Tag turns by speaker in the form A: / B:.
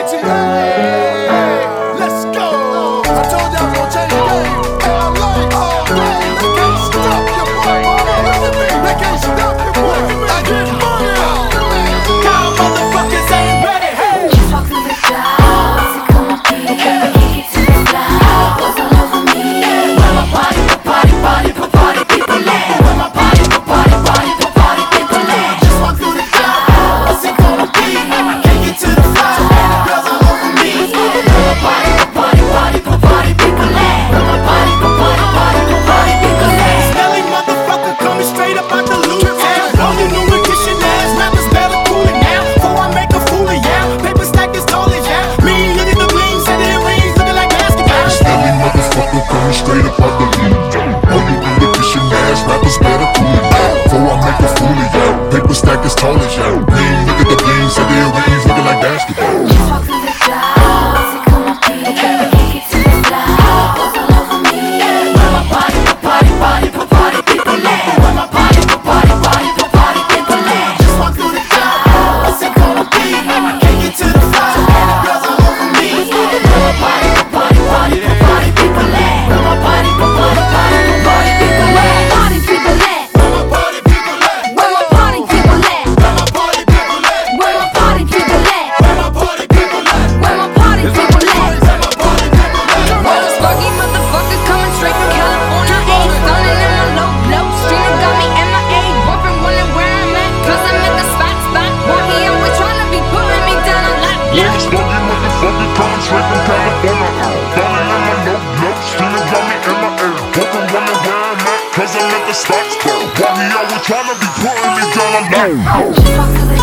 A: Let's go. I told y'all I'm gonna change the game. And I'm like, oh man, they can't stop your boy. They can't stop your boy. I get money. Y'all motherfuckers ain't ready. Hey.
B: Walk through the clouds, it come up here, kick it to the clouds, was all over me. Where my party people at? Where my party people at?
A: Just walk through the clouds. It's gonna be. Kick it to the floor. Girls all over me.
B: Where my party people at? Where my party people at?
A: Smelly motherfucker coming straight up out the loot town. All you new edition ass rappers better cool it now. Before I make a fool of y'all. Paper stack as tall as y'all. Mean, look at the bling, set their rings looking like basketball.
C: Smelly motherfucker coming straight up out the loot. All you edition ass rappers better cool it down. Before I make a fool of y'all. Paper stack as tall as y'all. Mean, look at the bling, set their rings looking like basketball.
B: Walk through the clouds, it come up here, kick it to the clouds, was all over me. Where my party people at? Where my party people at?
A: Just walk through the clouds. What's it gonna be? Kick it to the floor. Girls all over me.
B: Where my party people at? Where my party people at? Party people at?
A: Where my party people at?
B: Where my party people at?
A: Where my party people at?
B: Where my party people at?
A: Where my party people at?
B: Where my party people at?
A: Where my party people at?
B: Sparky motherfucker coming straight from California. Ayy, stunning in my low blow. Streamer got me MIA. Boyfriend wondering where I'm at. Cause I'm at the spot. Boy, he always tryna be putting me down a lot.
C: Yeah, Sparky motherfucker coming straight from California. Falling in my low, screaming got me in my ear. Walking wondering where I'm at, cause I'm at the spots. Why he always tryna be putting me down a lot.
B: Walk through the